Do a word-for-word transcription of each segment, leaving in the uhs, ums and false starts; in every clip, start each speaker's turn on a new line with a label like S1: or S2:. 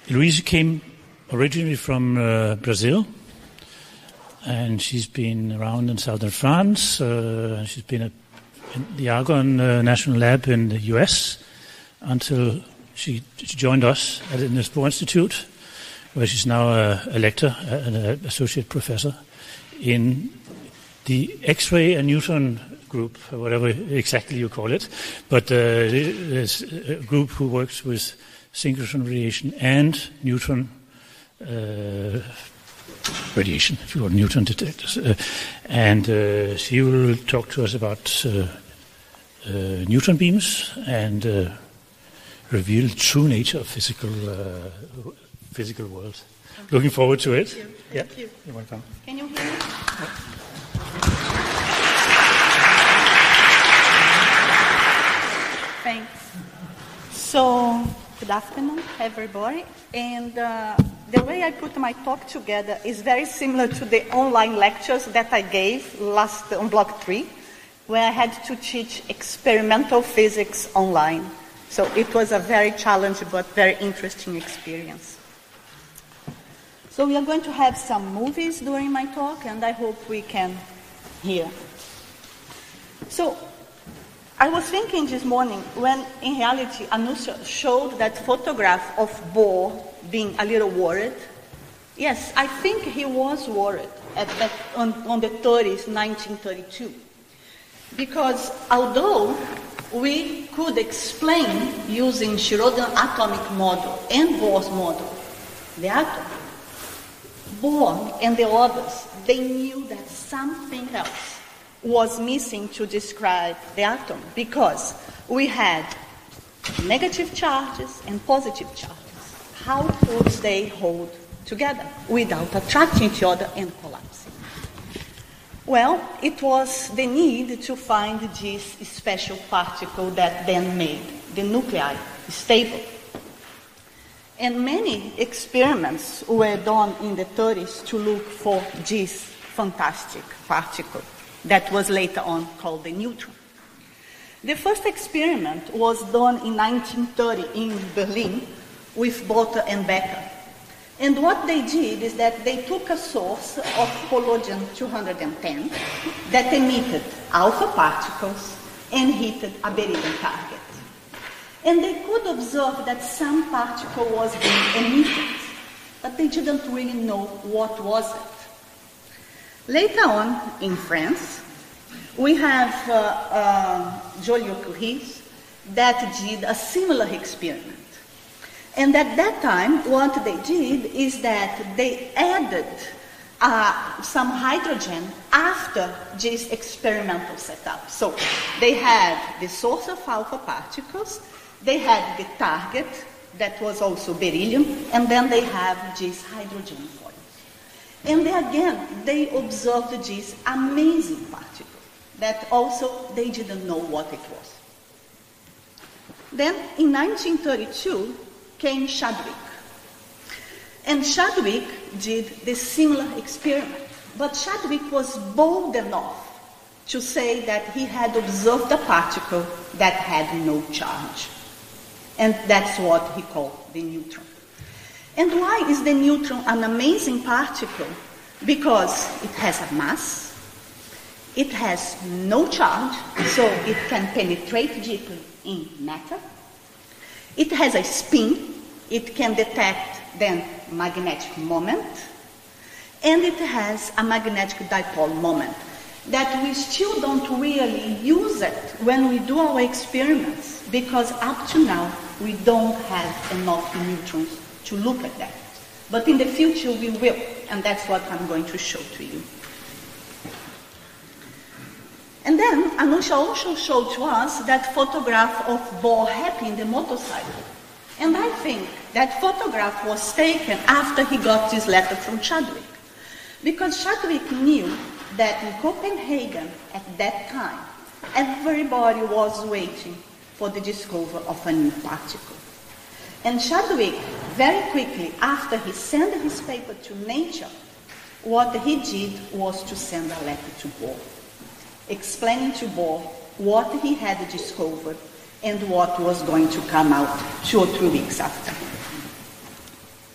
S1: Louise came originally from uh, Brazil, and she's been around in southern France. Uh, she's been at in the Argonne uh, National Lab in the U S until she, she joined us at the Niels Bohr Institute, where she's now a, a lecturer, an associate professor in the X-ray and neutron group, or whatever exactly you call it, but uh, there's a group who works with synchrotron radiation and neutron uh, radiation, if you want, neutron detectors. Uh, and uh, she will talk to us about uh, uh, neutron beams and uh, reveal the true nature of physical uh, physical world. Okay. Looking forward to it.
S2: Thank you.
S1: Yeah.
S2: Thank you.
S1: You're welcome.
S2: Can you hear me?
S1: Yeah.
S2: Thanks. So, good afternoon, everybody. And uh, the way I put my talk together is very similar to the online lectures that I gave last on Block three, where I had to teach experimental physics online. So it was a very challenging but very interesting experience. So we are going to have some movies during my talk, and I hope we can hear. So I was thinking this morning when, in reality, Anusha showed that photograph of Bohr being a little worried. Yes, I think he was worried at, at, on, on the thirtieth, nineteen thirty-two. Because although we could explain using Schrödinger atomic model and Bohr's model the atom, Bohr and the others, they knew that something else was missing to describe the atom, because we had negative charges and positive charges. How could they hold together without attracting each other and collapsing? Well, it was the need to find this special particle that then made the nuclei stable. And many experiments were done in the thirties to look for this fantastic particle that was later on called the neutron. The first experiment was done in nineteen thirty in Berlin with Bolter and Becker. And what they did is that they took a source of polonium two hundred ten that emitted alpha particles and hit a beryllium target. And they could observe that some particle was being emitted, but they didn't really know what was it. Later on, in France, we have uh, uh, Joliot-Curie that did a similar experiment. And at that time, what they did is that they added uh, some hydrogen after this experimental setup. So they had the source of alpha particles, they had the target that was also beryllium, and then they have this hydrogen foil. And they, again, they observed this amazing particle that also they didn't know what it was. Then in nineteen thirty-two came Chadwick. And Chadwick did the similar experiment. But Chadwick was bold enough to say that he had observed a particle that had no charge. And that's what he called the neutron. And why is the neutron an amazing particle? Because it has a mass, it has no charge, so it can penetrate deeply in matter. It has a spin, it can detect then magnetic moment, and it has a magnetic dipole moment that we still don't really use it when we do our experiments, because up to now we don't have enough neutrons to look at that. But in the future we will, and that's what I'm going to show to you. And then Anusha also showed to us that photograph of Bohr happy in the motorcycle. And I think that photograph was taken after he got this letter from Chadwick. Because Chadwick knew that in Copenhagen at that time, everybody was waiting for the discovery of a new particle. And Chadwick, very quickly, after he sent his paper to Nature, what he did was to send a letter to Bohr, explaining to Bohr what he had discovered and what was going to come out two or three weeks after.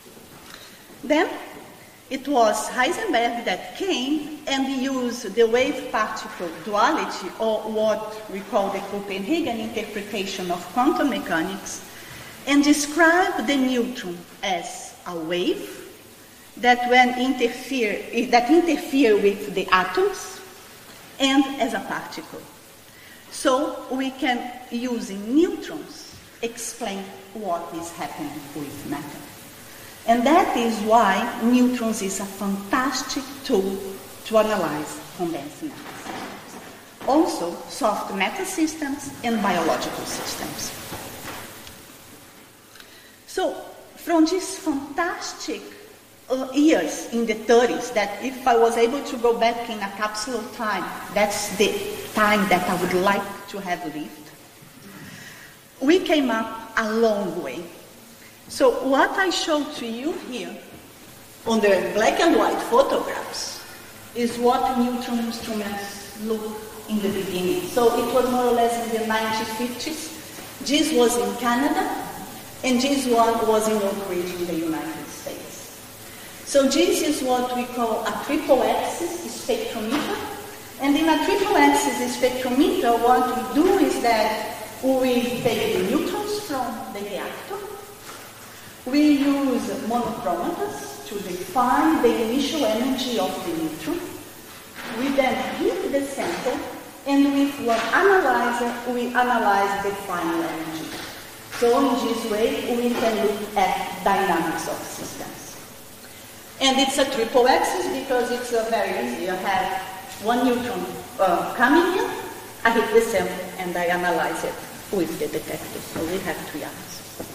S2: Then it was Heisenberg that came and used the wave-particle duality, or what we call the Copenhagen interpretation of quantum mechanics, and described the neutron as a wave that when interfere that interfere with the atoms, and as a particle. So we can, using neutrons, explain what is happening with matter. And that is why neutrons is a fantastic tool to analyze condensed matter systems. Also, soft matter systems and biological systems. So, from this fantastic uh, years in the thirties, that if I was able to go back in a capsule of time, that's the time that I would like to have lived, we came up a long way. So what I showed to you here on the black and white photographs is what neutron instruments look in the beginning. So it was more or less in the nineteen fifties. This was in Canada, and this one was in Oak Ridge in the United States. So this is what we call a triple axis spectrometer. And in a triple axis spectrometer, what we do is that we take the neutrons from the reactor. We use monochromators to define the initial energy of the neutron. We then heat the sample, and with one analyzer, we analyze the final energy. So in this way, we can look at dynamics of systems. And it's a triple axis because it's uh, very easy. I have one neutron uh, coming in, I hit the sample, and I analyze it with the detector. So we have three atoms.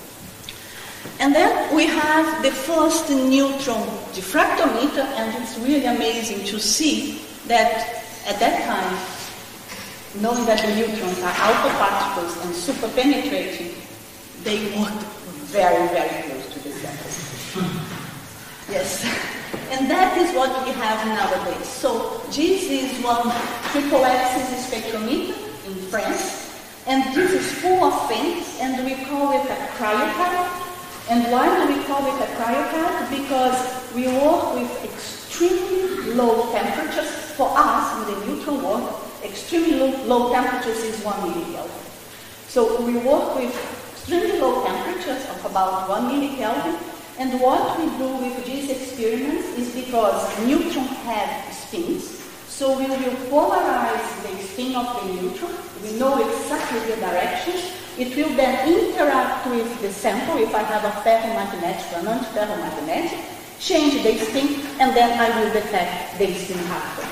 S2: And then we have the first neutron diffractometer, and it's really amazing to see that at that time, knowing that the neutrons are alpha particles and super penetrating, they worked very, very close to the samples. Yes. And that is what we have nowadays. So this is one triple axis spectrometer in France, and this is full of fins, and we call it a cryocard. And why do we call it a cryocard? Because we work with extremely low temperatures. For us, in the neutron world, extremely low, low temperatures is one millikelvin. So we work with extremely low temperatures of about one millikelvin. And what we do with these experiments is because neutrons have spins, so we will polarize the spin of the neutron. We know exactly the direction. It will then interact with the sample. If I have a ferromagnetic or non-ferromagnetic, change the spin, and then I will detect the spin halfway.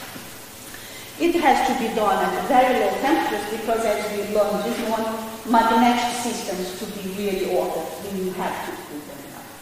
S2: It has to be done at very low temperatures because, as we learned this morning, magnetic systems to be really ordered, then you have to do them.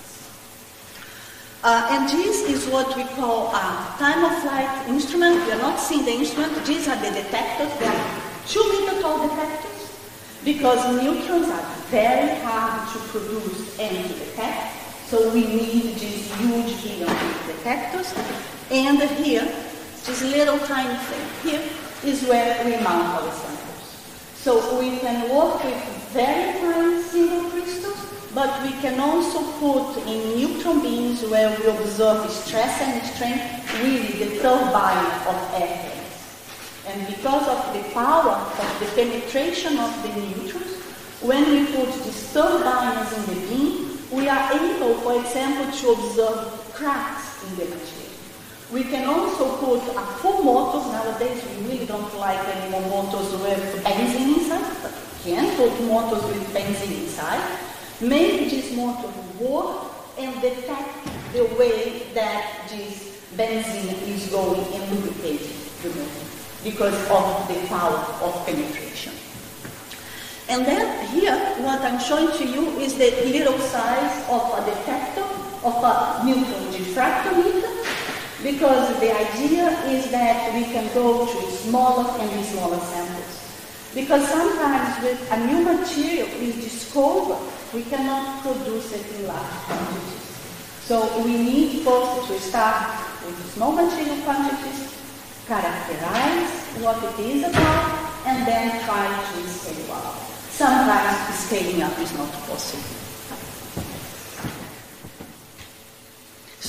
S2: Uh, and this is what we call a time-of-flight instrument. We are not seeing the instrument. These are the detectors. They are two-meter-tall detectors because neutrons are very hard to produce and to detect. So we need these huge helium detectors. And here, this little tiny thing here is where we mount our samples. So we can work with very tiny single crystals, but we can also put in neutron beams where we observe stress and strain, really the turbine of airplanes. And because of the power of the penetration of the neutrons, when we put these turbines in the beam, we are able, for example, to observe cracks in the material. We can also put a full motors. Nowadays, we really don't like any more motors with benzene inside, but we can put motors with benzene inside. Make this motor work and detect the way that this benzene is going and lubricating the motor because of the power of penetration. And then here, what I'm showing to you is the little size of a detector, of a neutron diffractometer, because the idea is that we can go to smaller and smaller samples. Because sometimes with a new material is discovered, we cannot produce it in large quantities. So we need first to start with small material quantities, characterize what it is about, and then try to scale up. Sometimes scaling up is not possible.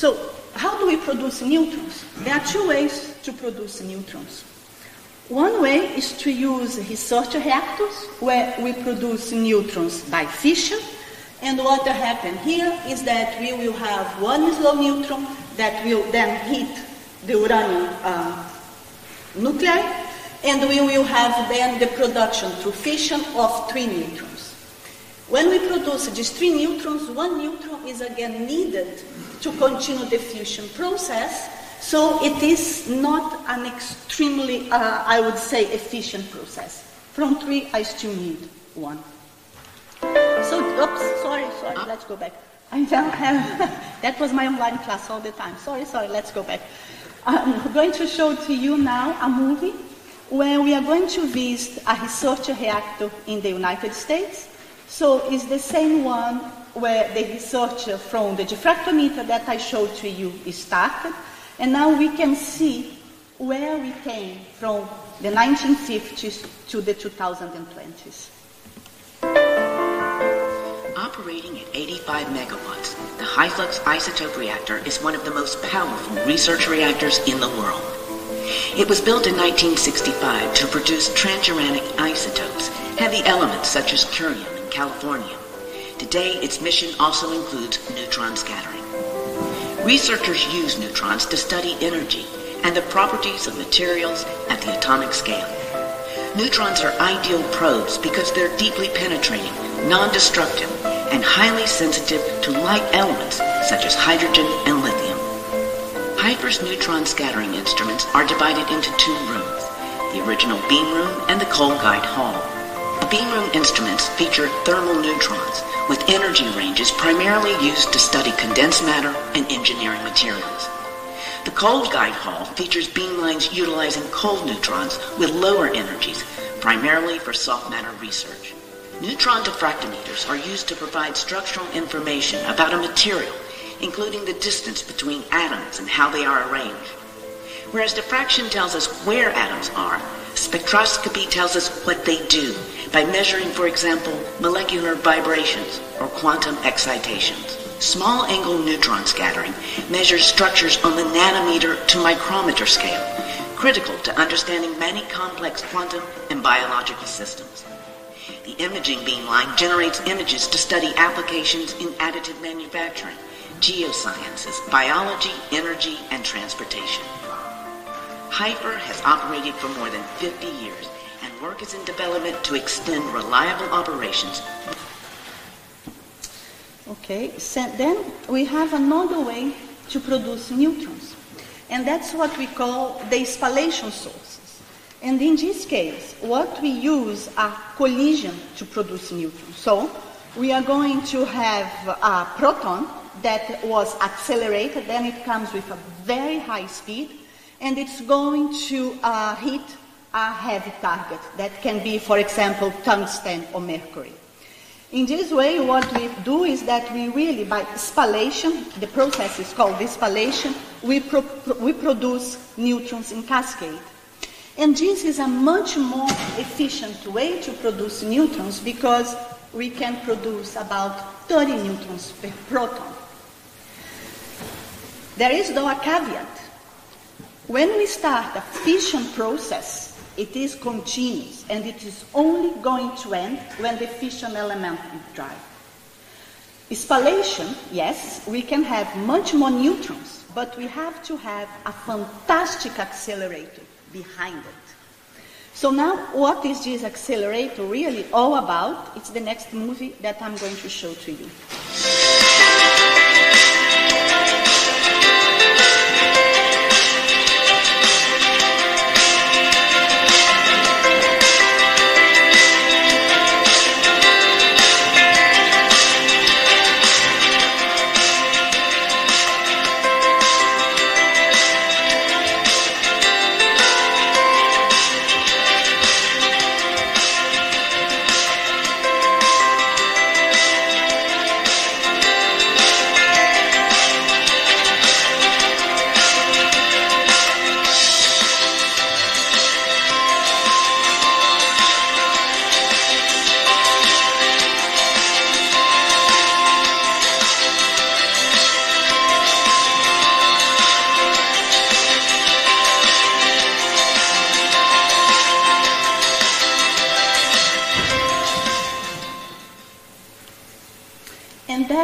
S2: So how do we produce neutrons? There are two ways to produce neutrons. One way is to use research reactors, where we produce neutrons by fission. And what will happen here is that we will have one slow neutron that will then hit the uranium uh, nuclei, and we will have then the production through fission of three neutrons. When we produce these three neutrons, one neutron is again needed to continue the fusion process. So it is not an extremely, uh, I would say, efficient process. From three, I still need one. So, oops, sorry, sorry, let's go back. I don't have, that was my online class all the time. Sorry, sorry, let's go back. I'm going to show to you now a movie where we are going to visit a research reactor in the United States. So it's the same one where the research from the diffractometer that I showed to you is started. And now we can see where we came from the nineteen fifties to the two thousand twenties.
S3: Operating at eighty-five megawatts, the high-flux isotope reactor is one of the most powerful research reactors in the world. It was built in nineteen sixty-five to produce transuranic isotopes, heavy elements such as curium and californium. Today, its mission also includes neutron scattering. Researchers use neutrons to study energy and the properties of materials at the atomic scale. Neutrons are ideal probes because they're deeply penetrating, non-destructive, and highly sensitive to light elements such as hydrogen and lithium. HIFER's neutron scattering instruments are divided into two rooms, the original beam room and the cold guide hall. The beam room instruments feature thermal neutrons with energy ranges primarily used to study condensed matter and engineering materials. The cold guide hall features beamlines utilizing cold neutrons with lower energies, primarily for soft matter research. Neutron diffractometers are used to provide structural information about a material, including the distance between atoms and how they are arranged. Whereas diffraction tells us where atoms are, spectroscopy tells us what they do by measuring, for example, molecular vibrations or quantum excitations. Small angle neutron scattering measures structures on the nanometer to micrometer scale, critical to understanding many complex quantum and biological systems. The imaging beamline generates images to study applications in additive manufacturing, geosciences, biology, energy, and transportation. HIFER has operated for more than fifty years, and work is in development to extend reliable operations.
S2: Okay, so then we have another way to produce neutrons, and that's what we call the spallation sources. And in this case, what we use are collision to produce neutrons. So we are going to have a proton that was accelerated, then it comes with a very high speed, and it's going to uh, hit a heavy target that can be, for example, tungsten or mercury. In this way, what we do is that we really, by spallation, the process is called spallation, we, pro we produce neutrons in cascade. And this is a much more efficient way to produce neutrons because we can produce about thirty neutrons per proton. There is, though, a caveat. When we start a fission process, it is continuous, and it is only going to end when the fission element is dry. Spallation, yes, we can have much more neutrons, but we have to have a fantastic accelerator behind it. So now, what is this accelerator really all about? It's the next movie that I'm going to show to you.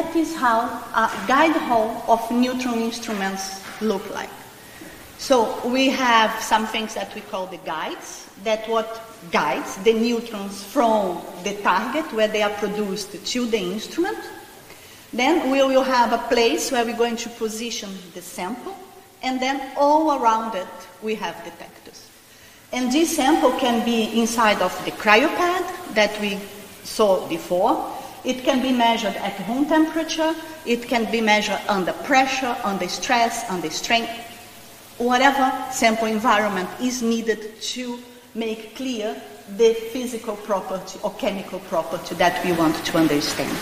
S2: that is how a guide hall of neutron instruments look like. So we have some things that we call the guides, that what guides the neutrons from the target where they are produced to the instrument. Then we will have a place where we're going to position the sample, and then all around it we have detectors. And this sample can be inside of the cryopad that we saw before. It can be measured at room temperature, it can be measured under pressure, under stress, under strain, whatever sample environment is needed to make clear the physical property or chemical property that we want to understand.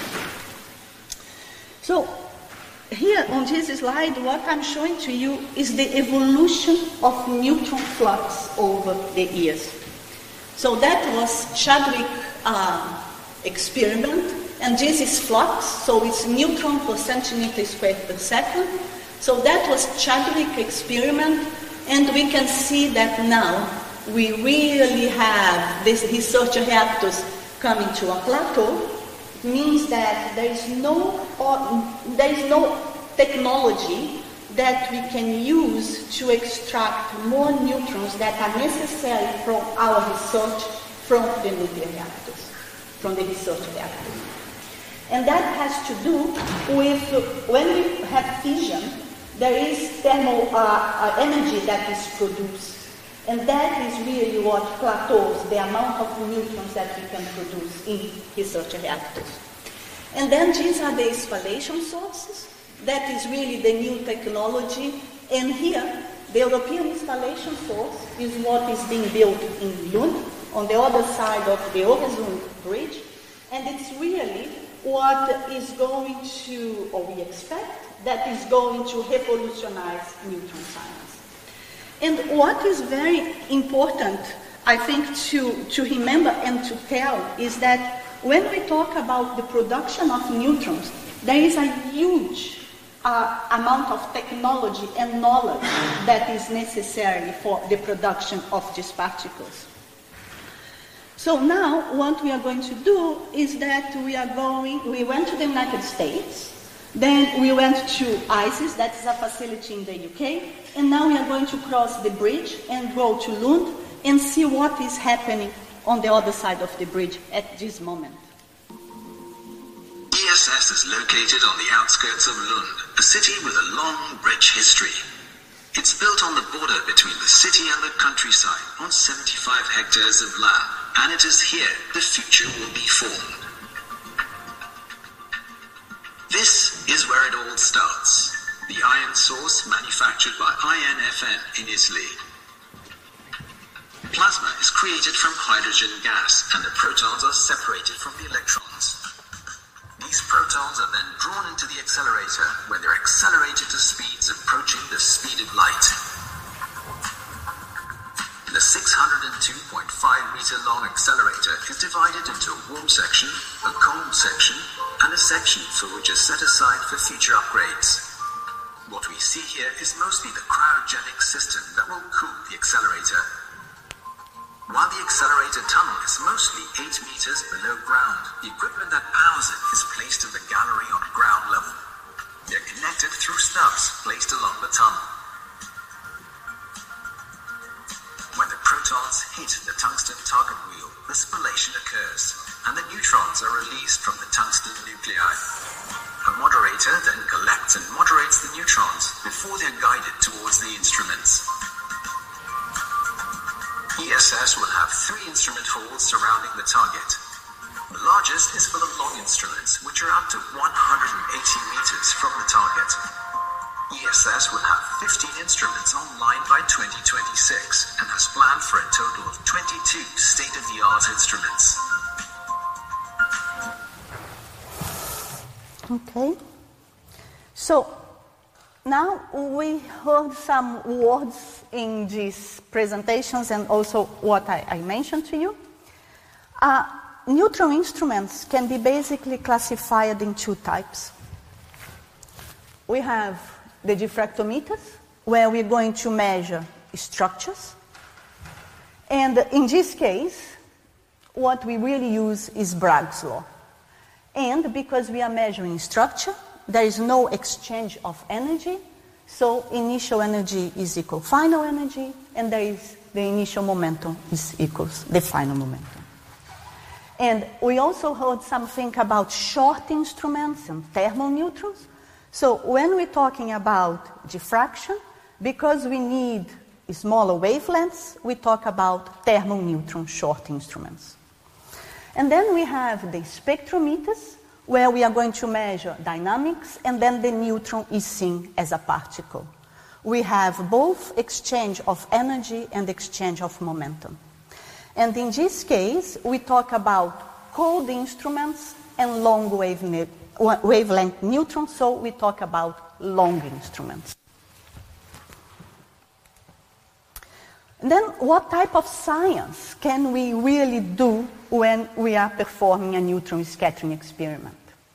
S2: So here on this slide, what I'm showing to you is the evolution of neutron flux over the years. So that was Chadwick uh, experiment, and this is flux, so it's neutron per centimeter squared per second. So that was Chadwick experiment, and we can see that now we really have these research reactors coming to a plateau. It means that there is no, or, there is no technology that we can use to extract more neutrons that are necessary from our research from the nuclear reactors, from the research reactors. And that has to do with when we have fission, there is thermal uh, energy that is produced. And that is really what plateaus the amount of neutrons that we can produce in research reactors. And then these are the spallation sources. That is really the new technology. And here, the European spallation source is what is being built in Lund, on the other side of the Öresund Bridge. And it's really what is going to, or we expect, that is going to revolutionize neutron science. And what is very important, I think, to, to remember and to tell is that when we talk about the production of neutrons, there is a huge uh, amount of technology and knowledge that is necessary for the production of these particles. So now what we are going to do is that we are going, we went to the United States, then we went to ICES, that is a facility in the U K, and now we are going to cross the bridge and go to Lund and see what is happening on the other side of the bridge at this moment.
S4: E S S is located on the outskirts of Lund, a city with a long, rich history. It's built on the border between the city and the countryside on seventy-five hectares of land, and it is here the future will be formed. This is where it all starts. The iron source manufactured by I N F N in Italy. Plasma is created from hydrogen gas, and the protons are separated from the electrons. These protons are then drawn into the accelerator, where they're accelerated to speeds approaching the speed of light. The six hundred two point five meter long accelerator is divided into a warm section, a cold section, and a section for which is set aside for future upgrades. What we see here is mostly the cryogenic system that will cool the accelerator. While the accelerator tunnel is mostly eight meters below ground, the equipment that powers it is placed in the gallery on ground level. They're connected through stubs placed along the tunnel. When the protons hit the tungsten target wheel, the spallation occurs, and the neutrons are released from the tungsten nuclei. A moderator then collects and moderates the neutrons before they're guided towards the instruments. E S S will have three instrument halls surrounding the target. The largest is for the long instruments, which are up to one hundred eighty meters from the target. E S S will have fifteen instruments online by twenty twenty-six and has planned for a total of twenty-two state-of-the-art instruments.
S2: Okay. So now we heard some words in these presentations and also what I, I mentioned to you. Uh, neutron instruments can be basically classified in two types. We have the diffractometers, where we're going to measure structures. And in this case, what we really use is Bragg's law. And because we are measuring structure, there is no exchange of energy. So initial energy is equal final energy, and there is the initial momentum is equals the final momentum. And we also heard something about short instruments and thermal neutrons. So when we're talking about diffraction, because we need smaller wavelengths, we talk about thermal neutron short instruments. And then we have the spectrometers, where we are going to measure dynamics, and then the neutron is seen as a particle. We have both exchange of energy and exchange of momentum. And in this case, we talk about cold instruments and long wavelength, wavelength neutrons, so we talk about long instruments. And then what type of science can we really do when we are performing a neutron scattering experiment?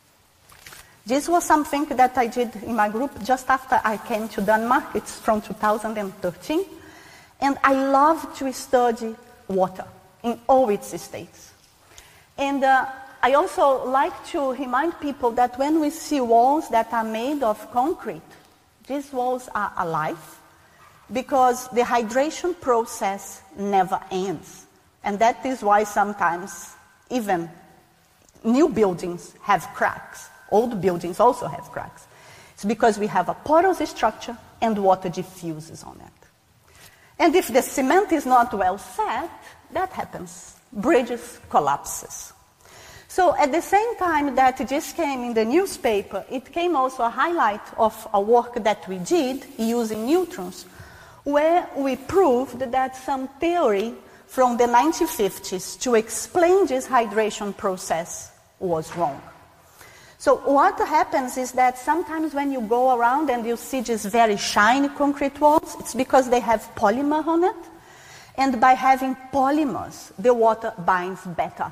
S2: This was something that I did in my group just after I came to Denmark. It's from two thousand thirteen. And I love to study water in all its states. And uh, I also like to remind people that when we see walls that are made of concrete, these walls are alive because the hydration process never ends. And that is why sometimes even new buildings have cracks. Old buildings also have cracks. It's because we have a porous structure and water diffuses on it. And if the cement is not well set, that happens. Bridges collapses. So at the same time that this came in the newspaper, it came also a highlight of a work that we did using neutrons, where we proved that some theory from the nineteen fifties to explain this hydration process was wrong. So what happens is that sometimes when you go around and you see these very shiny concrete walls, it's because they have polymer on it. And by having polymers, the water binds better.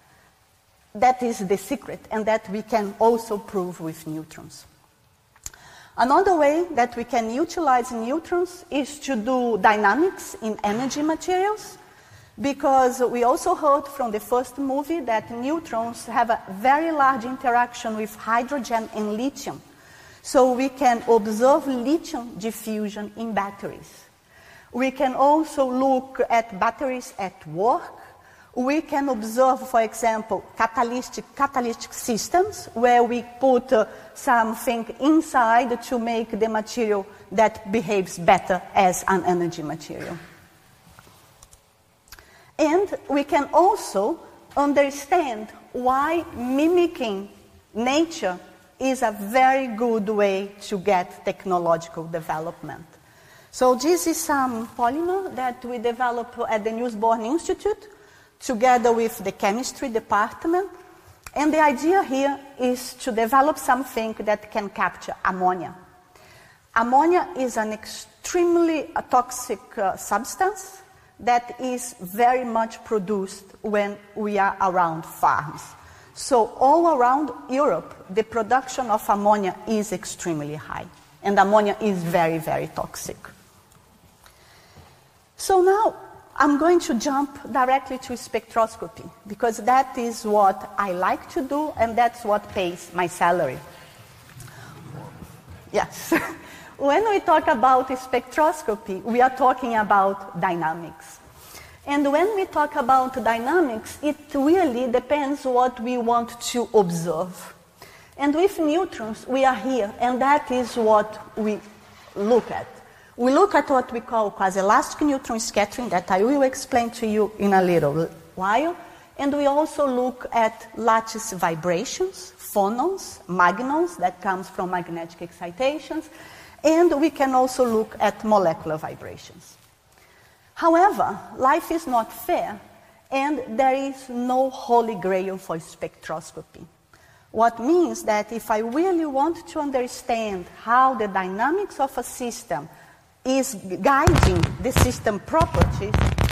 S2: That is the secret, and that we can also prove with neutrons. Another way that we can utilize neutrons is to do dynamics in energy materials, because we also heard from the first movie that neutrons have a very large interaction with hydrogen and lithium. So we can observe lithium diffusion in batteries. We can also look at batteries at work. We can observe, for example, catalytic, catalytic systems, where we put uh, something inside to make the material that behaves better as an energy material. And we can also understand why mimicking nature is a very good way to get technological development. So this is some polymer that we developed at the Niels Bohr Institute together with the chemistry department. And the idea here is to develop something that can capture ammonia. Ammonia is an extremely toxic uh, substance that is very much produced when we are around farms. So all around Europe, the production of ammonia is extremely high. And ammonia is very, very toxic. So now I'm going to jump directly to spectroscopy, because that is what I like to do, and that's what pays my salary. Yes. When we talk about spectroscopy, we are talking about dynamics. And when we talk about dynamics, it really depends what we want to observe. And with neutrons, we are here, and that is what we look at. We look at what we call quasi-elastic neutron scattering, that I will explain to you in a little while. And we also look at lattice vibrations, phonons, magnons, that comes from magnetic excitations. And we can also look at molecular vibrations. However, life is not fair, and there is no holy grail for spectroscopy. What means that if I really want to understand how the dynamics of a system is guiding the system properties,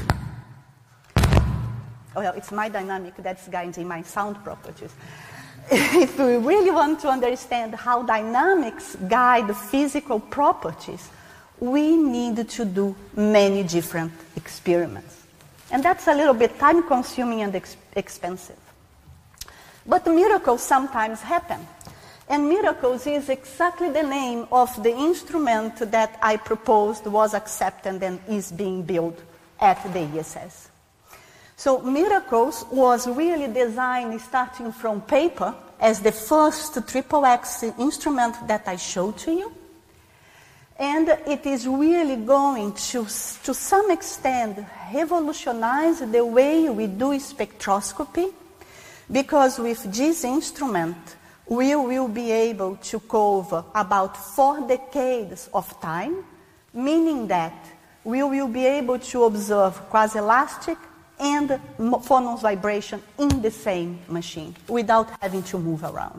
S2: well, it's my dynamic that's guiding my sound properties. If we really want to understand how dynamics guide physical properties, we need to do many different experiments. And that's a little bit time-consuming and ex- expensive. But miracles sometimes happen. And miracles is exactly the name of the instrument that I proposed was accepted and is being built at the E S S. So miracles was really designed starting from paper as the first triple X instrument that I showed to you. And it is really going to, to some extent, revolutionize the way we do spectroscopy, because with this instrument, we will be able to cover about four decades of time, meaning that we will be able to observe quasi-elastic and phonons vibration in the same machine without having to move around.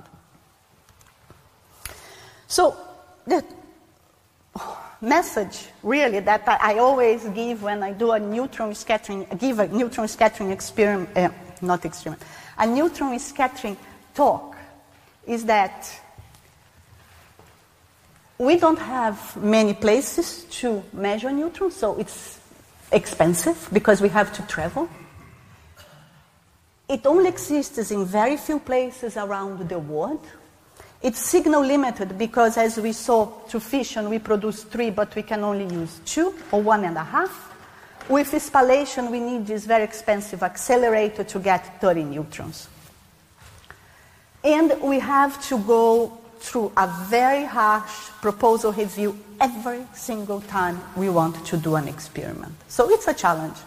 S2: So the message really that I, I always give when I do a neutron scattering, give a neutron scattering experiment, uh, not experiment, a neutron scattering talk is that we don't have many places to measure neutrons, so it's expensive because we have to travel. It only exists in very few places around the world. It's signal limited because, as we saw, to fission we produce three, but we can only use two or one and a half. With spallation, we need this very expensive accelerator to get thirty neutrons. And we have to go through a very harsh proposal review every single time we want to do an experiment. So it's a challenge.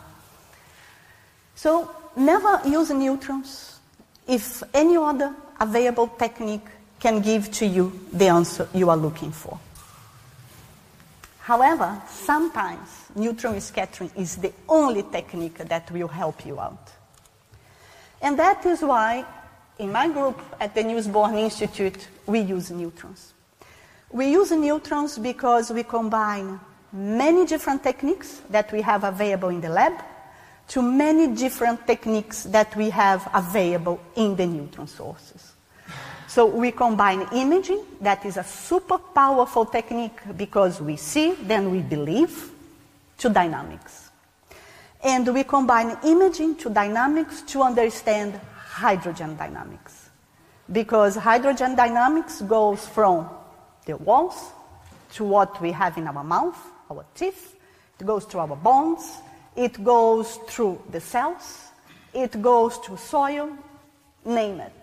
S2: So never use neutrons if any other available technique can give to you the answer you are looking for. However, sometimes neutron scattering is the only technique that will help you out. And that is why in my group at the Niels Bohr Institute, we use neutrons. We use neutrons because we combine many different techniques that we have available in the lab to many different techniques that we have available in the neutron sources. So we combine imaging, that is a super powerful technique because we see, then we believe, to dynamics. And we combine imaging to dynamics to understand hydrogen dynamics. Because hydrogen dynamics goes from the walls to what we have in our mouth, our teeth, it goes to our bones, it goes through the cells, it goes to soil, name it.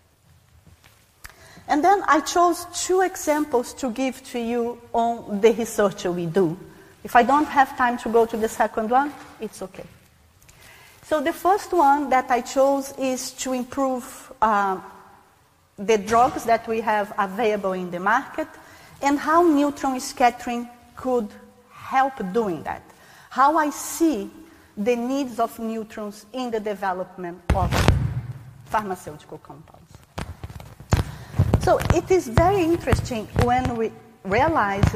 S2: And then I chose two examples to give to you on the research we do. If I don't have time to go to the second one, it's okay. So the first one that I chose is to improve uh, the drugs that we have available in the market and how neutron scattering could help doing that. How I see the needs of neutrons in the development of pharmaceutical compounds. So it is very interesting when we realize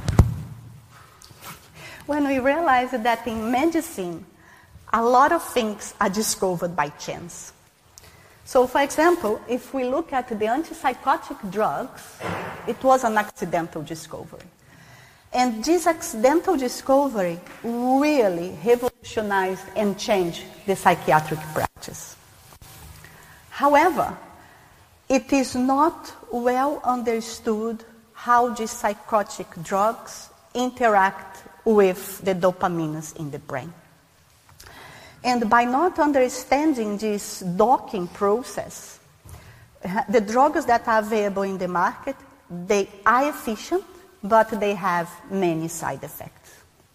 S2: when we realize that in medicine, a lot of things are discovered by chance. So, for example, if we look at the antipsychotic drugs, it was an accidental discovery. And this accidental discovery really revolutionized and changed the psychiatric practice. However, it is not well understood how these psychotic drugs interact with the dopamines in the brain. And by not understanding this docking process, the drugs that are available in the market, they are efficient, but they have many side effects.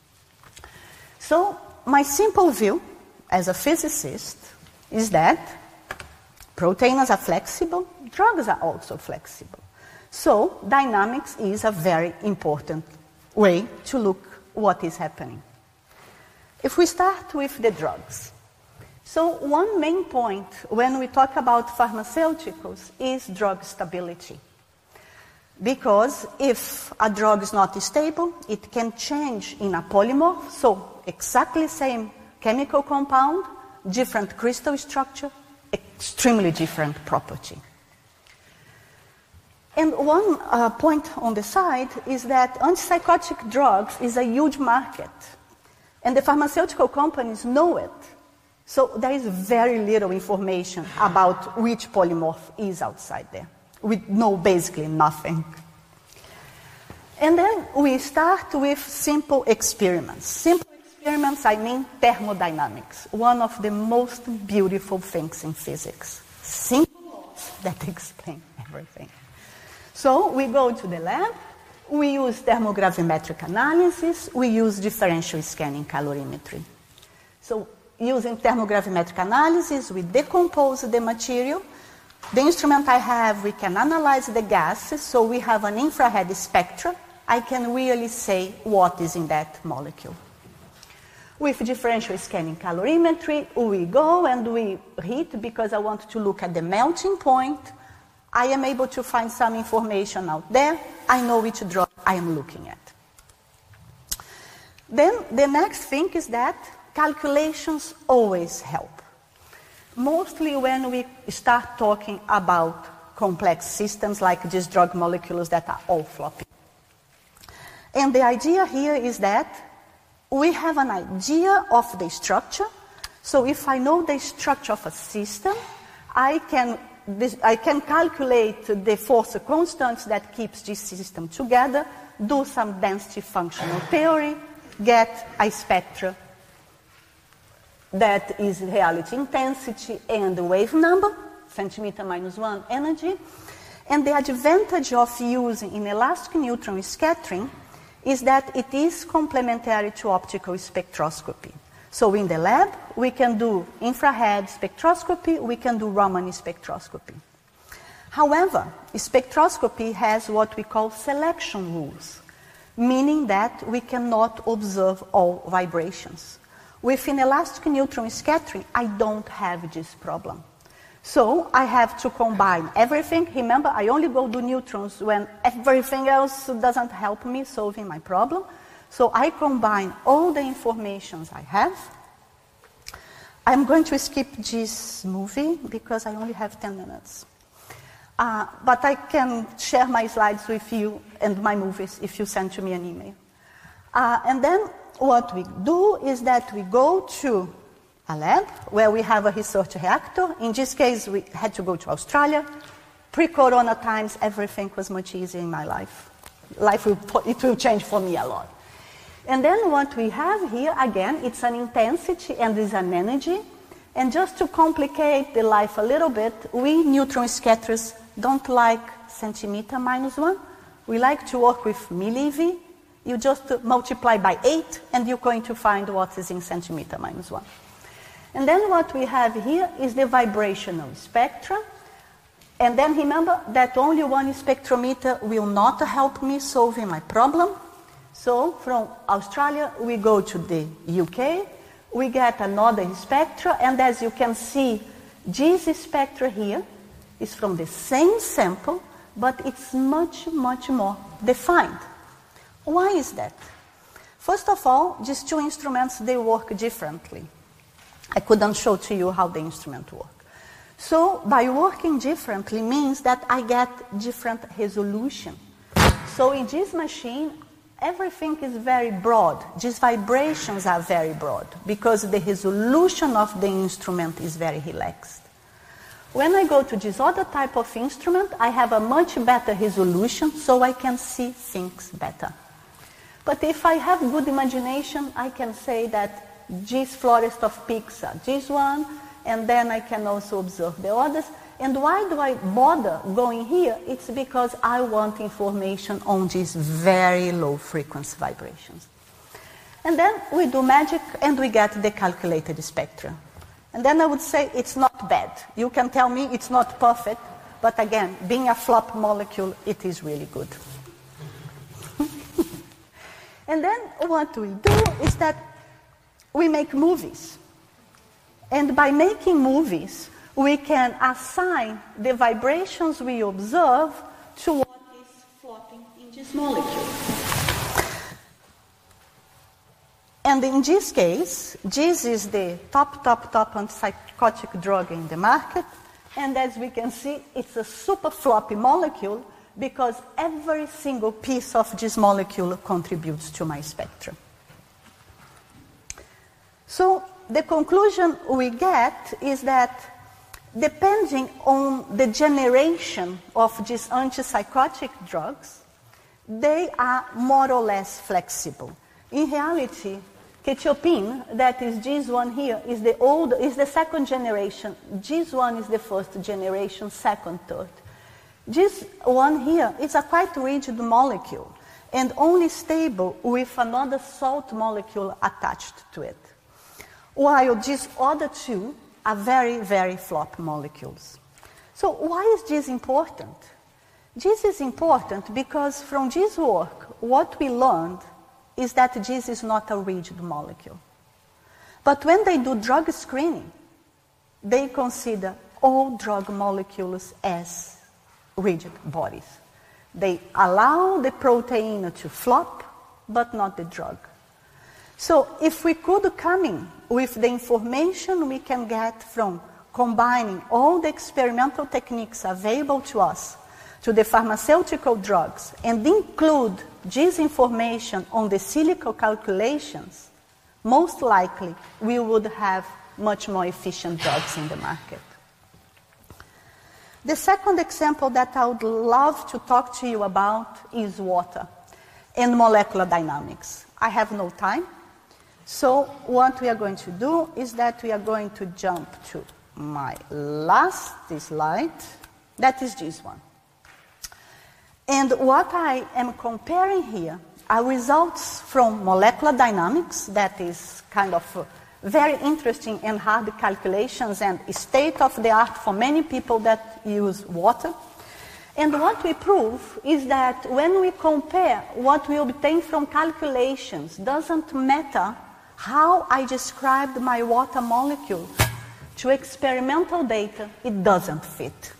S2: So my simple view as a physicist is that proteins are flexible, drugs are also flexible. So dynamics is a very important way to look what is happening. If we start with the drugs. So one main point when we talk about pharmaceuticals is drug stability. Because if a drug is not stable, it can change in a polymorph, so exactly same chemical compound, different crystal structure, extremely different property. And one uh, point on the side is that antipsychotic drugs is a huge market. And the pharmaceutical companies know it. So there is very little information about which polymorph is outside there. We know basically nothing. And then we start with simple experiments. Simple experiments, I mean thermodynamics, one of the most beautiful things in physics. Simple laws that explain everything. So we go to the lab, we use thermogravimetric analysis, we use differential scanning calorimetry. So using thermogravimetric analysis, we decompose the material. The instrument I have, we can analyze the gases, so we have an infrared spectra. I can really say what is in that molecule. With differential scanning calorimetry, we go and we heat because I want to look at the melting point. I am able to find some information out there. I know which drug I am looking at. Then the next thing is that calculations always help. Mostly when we start talking about complex systems like these drug molecules that are all floppy. And the idea here is that we have an idea of the structure. So if I know the structure of a system, I can, this, I can calculate the force constants that keeps this system together, do some density functional theory, get a spectra that is reality intensity and the wave number, centimeter minus one energy. And the advantage of using inelastic neutron scattering is that it is complementary to optical spectroscopy. So in the lab, we can do infrared spectroscopy, we can do Raman spectroscopy. However, spectroscopy has what we call selection rules, meaning that we cannot observe all vibrations. With inelastic neutron scattering, I don't have this problem. So I have to combine everything. Remember, I only go do neutrons when everything else doesn't help me solving my problem. So I combine all the informations I have. I'm going to skip this movie because I only have ten minutes. Uh, but I can share my slides with you and my movies if you send to me an email. Uh, and then what we do is that we go to a lab where we have a research reactor. In this case, we had to go to Australia. Pre-corona times, everything was much easier in my life. Life will, it will change for me a lot. And then what we have here, again, it's an intensity and it's an energy. And just to complicate the life a little bit, we neutron scatterers don't like centimeter minus one. We like to work with millieV. You just multiply by eight, and you're going to find what is in centimeter minus one. And then what we have here is the vibrational spectra. And then remember that only one spectrometer will not help me solving my problem. So from Australia, we go to the U K, we get another spectra, and as you can see, this spectra here is from the same sample, but it's much, much more defined. Why is that? First of all, these two instruments, they work differently. I couldn't show to you how the instrument works. So by working differently means that I get different resolution. So in this machine, everything is very broad. These vibrations are very broad because the resolution of the instrument is very relaxed. When I go to this other type of instrument, I have a much better resolution so I can see things better. But if I have good imagination, I can say that this forest of peaks are this one, and then I can also observe the others. And why do I bother going here? It's because I want information on these very low frequency vibrations. And then we do magic and we get the calculated spectra. And then I would say it's not bad. You can tell me it's not perfect, but again, being a flop molecule, it is really good. And then what we do is that we make movies. And by making movies, we can assign the vibrations we observe to what is floating in this molecule. And in this case, this is the top, top, top antipsychotic drug in the market. And as we can see, it's a super floppy molecule because every single piece of this molecule contributes to my spectrum. So the conclusion we get is that depending on the generation of these antipsychotic drugs, they are more or less flexible. In reality, quetiapine, that is this one here, is the old, is the second generation. This one is the first generation, second, third. This one here is a quite rigid molecule and only stable with another salt molecule attached to it. While these other two are very, very flop molecules. So why is this important? This is important because from this work, what we learned is that this is not a rigid molecule. But when they do drug screening, they consider all drug molecules as rigid bodies. They allow the protein to flop, but not the drug. So if we could come in with the information we can get from combining all the experimental techniques available to us to the pharmaceutical drugs and include this information on the silico calculations, most likely we would have much more efficient drugs in the market. The second example that I would love to talk to you about is water and molecular dynamics. I have no time, so what we are going to do is that we are going to jump to my last slide, that is this one. And what I am comparing here are results from molecular dynamics, that is kind of uh, very interesting and hard calculations and state of the art for many people that use water. And what we prove is that when we compare what we obtain from calculations, doesn't matter how I described my water molecule to experimental data, it doesn't fit.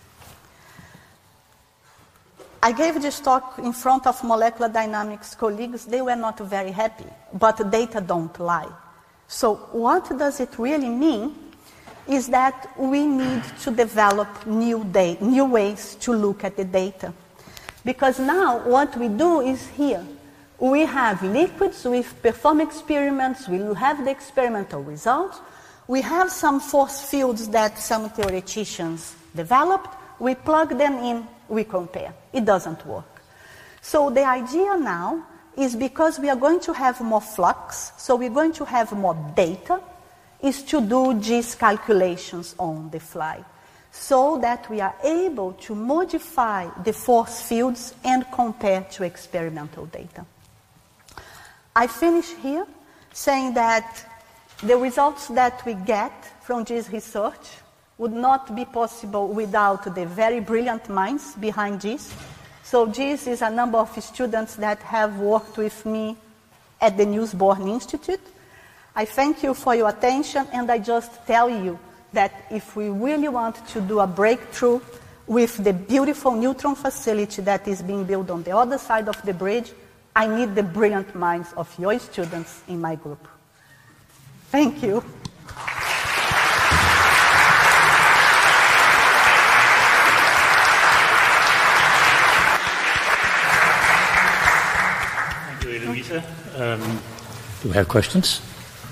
S2: I gave this talk in front of molecular dynamics colleagues. They were not very happy, but data don't lie. So what does it really mean is that we need to develop new, da- new ways to look at the data. Because now what we do is here, we have liquids, we perform experiments, we have the experimental results, we have some force fields that some theoreticians developed, we plug them in, we compare. It doesn't work. So the idea now is because we are going to have more flux, so we're going to have more data, is to do these calculations on the fly, so that we are able to modify the force fields and compare to experimental data. I finish here saying that the results that we get from this research would not be possible without the very brilliant minds behind this. So this is a number of students that have worked with me at the Niels Bohr Institute. I thank you for your attention, and I just tell you that if we really want to do a breakthrough with the beautiful neutron facility that is being built on the other side of the bridge, I need the brilliant minds of your students in my group. Thank you.
S1: Thank you, Eloisa. Um, do we have questions?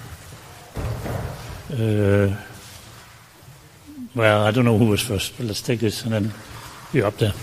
S1: Uh, well, I don't know who was first, but let's take this and then you're up there.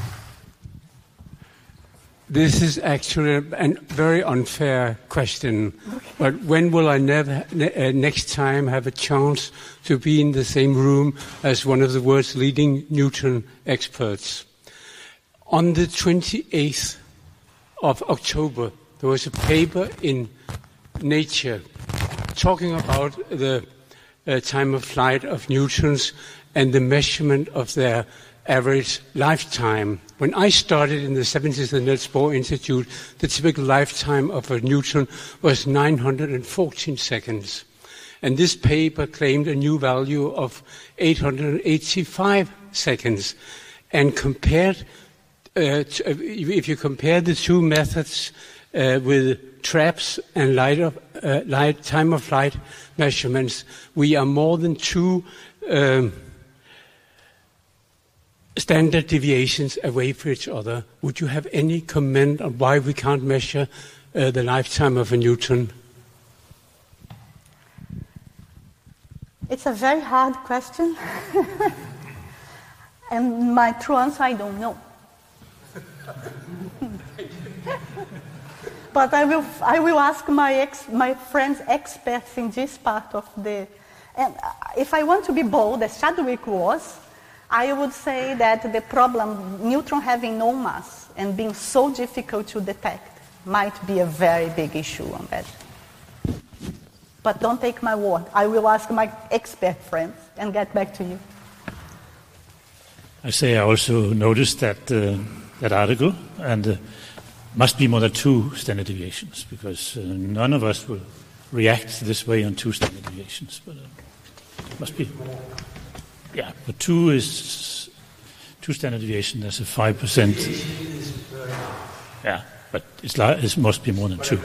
S5: This is actually a very unfair question, but when will I never, ne- uh, next time have a chance to be in the same room as one of the world's leading Newton experts? On the twenty-eighth of October, there was a paper in Nature talking about the uh, time of flight of neutrons and the measurement of their average lifetime. When I started in the seventies at the Niels Bohr Institute, the typical lifetime of a neutron was nine hundred fourteen seconds. And this paper claimed a new value of eight hundred eighty-five seconds. And compared, uh, to, uh, if you compare the two methods uh, with traps and light of, uh, light, time of flight measurements, we are more than two um, standard deviations away from each other. Would you have any comment on why we can't measure uh, the lifetime of a neutron?
S2: It's a very hard question. And my true answer, I don't know. But I will, I will ask my ex, my friends experts in this part of the... And if I want to be bold, as Chadwick was, I would say that the problem, neutron having no mass and being so difficult to detect, might be a very big issue on that. But don't take my word. I will ask my expert friends and get back to you.
S1: I say I also noticed that uh, that article, and uh, must be more than two standard deviations, because uh, none of us will react this way on two standard deviations. But uh, it must be. Yeah, but two is two standard deviation. That's a five percent. Yeah, but it's like, it must be more than two.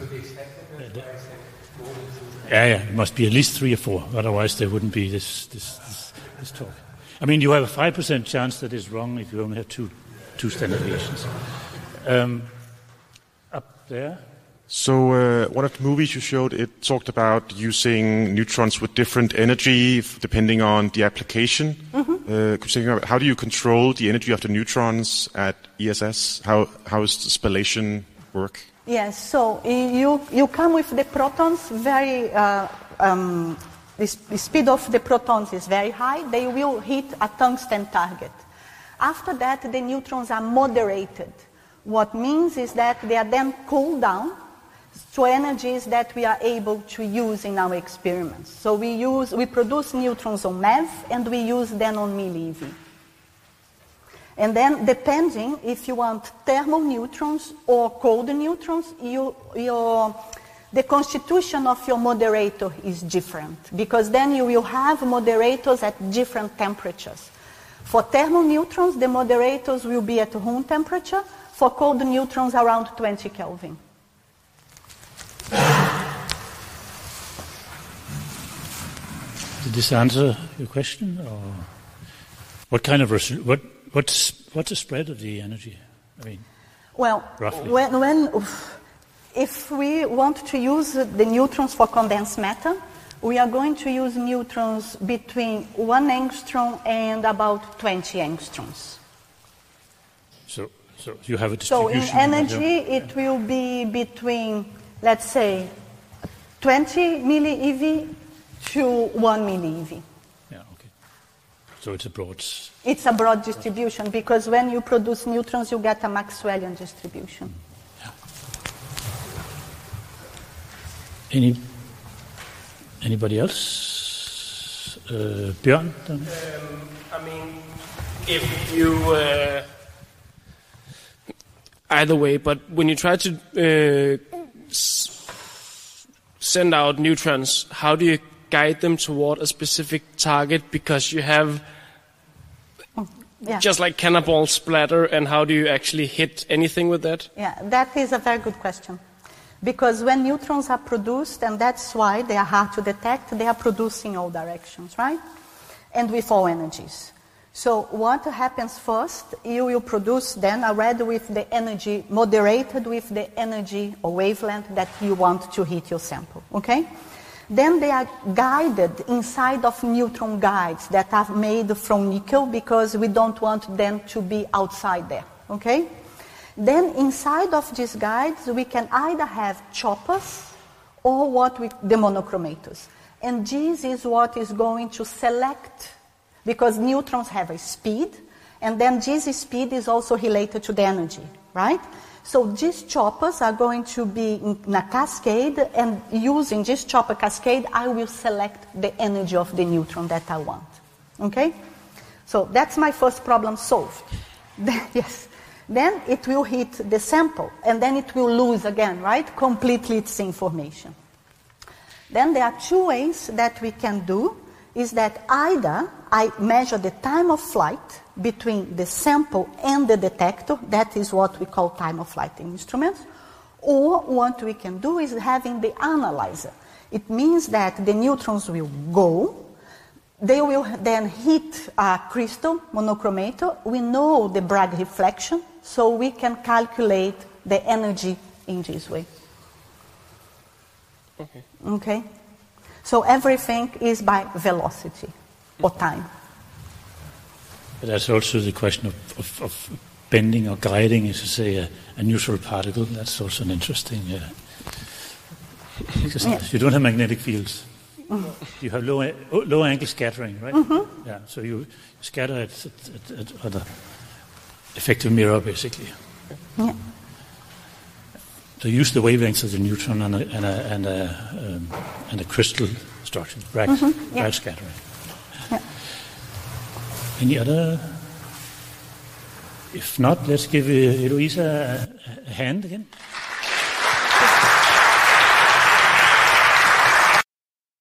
S1: Yeah, yeah, it must be at least three or four. Otherwise, there wouldn't be this this this, this talk. I mean, you have a five percent chance that it's wrong if you only have two two standard deviations. Um, up there.
S6: So uh, one of the movies you showed, it talked about using neutrons with different energy f- depending on the application. Mm-hmm. Uh, how do you control the energy of the neutrons at E S S? How how does the spallation work?
S2: Yes, so you you come with the protons very. Uh, um, the, sp- the speed of the protons is very high. They will hit a tungsten target. After that, the neutrons are moderated. What means is that they are then cooled down to energies that we are able to use in our experiments. So we use, we produce neutrons on MeV and we use them on millieV. And then, depending if you want thermal neutrons or cold neutrons, you, your, the constitution of your moderator is different, because then you will have moderators at different temperatures. For thermal neutrons, the moderators will be at room temperature. For cold neutrons, around twenty Kelvin.
S1: Did this answer your question, or what kind of res- what what's what's the spread of the energy? I mean,
S2: well,
S1: roughly.
S2: when, when if we want to use the neutrons for condensed matter, we are going to use neutrons between one angstrom and about twenty angstroms.
S1: So, so you have a
S2: So
S1: distribution.
S2: in energy, it will be between, let's say, twenty millieV to one millieV.
S1: Yeah, okay. So it's a broad.
S2: It's a broad distribution, because when you produce neutrons, you get a Maxwellian distribution.
S1: Yeah. Any anybody else? Uh, Bjørn?
S7: Um, I mean, if you uh, either way, but when you try to uh, s- send out neutrons, how do you guide them toward a specific target? Because you have
S2: Yeah.
S7: just like cannonball splatter, and how do you actually hit anything with that?
S2: Yeah, that is a very good question. Because when neutrons are produced, and that's why they are hard to detect, they are produced in all directions, right? And with all energies. So what happens first, you will produce then already with the energy, moderated with the energy or wavelength that you want to hit your sample, okay? Then they are guided inside of neutron guides that are made from nickel, because we don't want them to be outside there, okay? Then inside of these guides, we can either have choppers or what we, the monochromators. And this is what is going to select, because neutrons have a speed, and then this speed is also related to the energy, right? So these choppers are going to be in a cascade, and using this chopper cascade, I will select the energy of the neutron that I want. Okay? So that's my first problem solved. Then, yes. Then it will hit the sample, and then it will lose again, right? Completely its information. Then there are two ways that we can do, is that either I measure the time of flight between the sample and the detector, that is what we call time of flight in instruments, or what we can do is having the analyzer. It means that the neutrons will go, they will then hit a crystal monochromator. We know the Bragg reflection, so we can calculate the energy in this way.
S7: Okay.
S2: Okay. So everything is by velocity or time.
S1: But there's also the question of, of, of bending or guiding, as you say, a, a neutral particle. That's also an interesting... Uh, because yeah. you don't have magnetic fields. Mm-hmm. You have low, low angle scattering, right? Mm-hmm. Yeah. So you scatter at, at, at, at a effective mirror, basically.
S2: Yeah.
S1: So use the wavelengths of the neutron and a, and a, and a, um, and a crystal structure, bright,
S2: mm-hmm. yeah.
S1: bright scattering.
S2: Yeah.
S1: Any other? If not, let's give uh, Eloisa a, a hand again.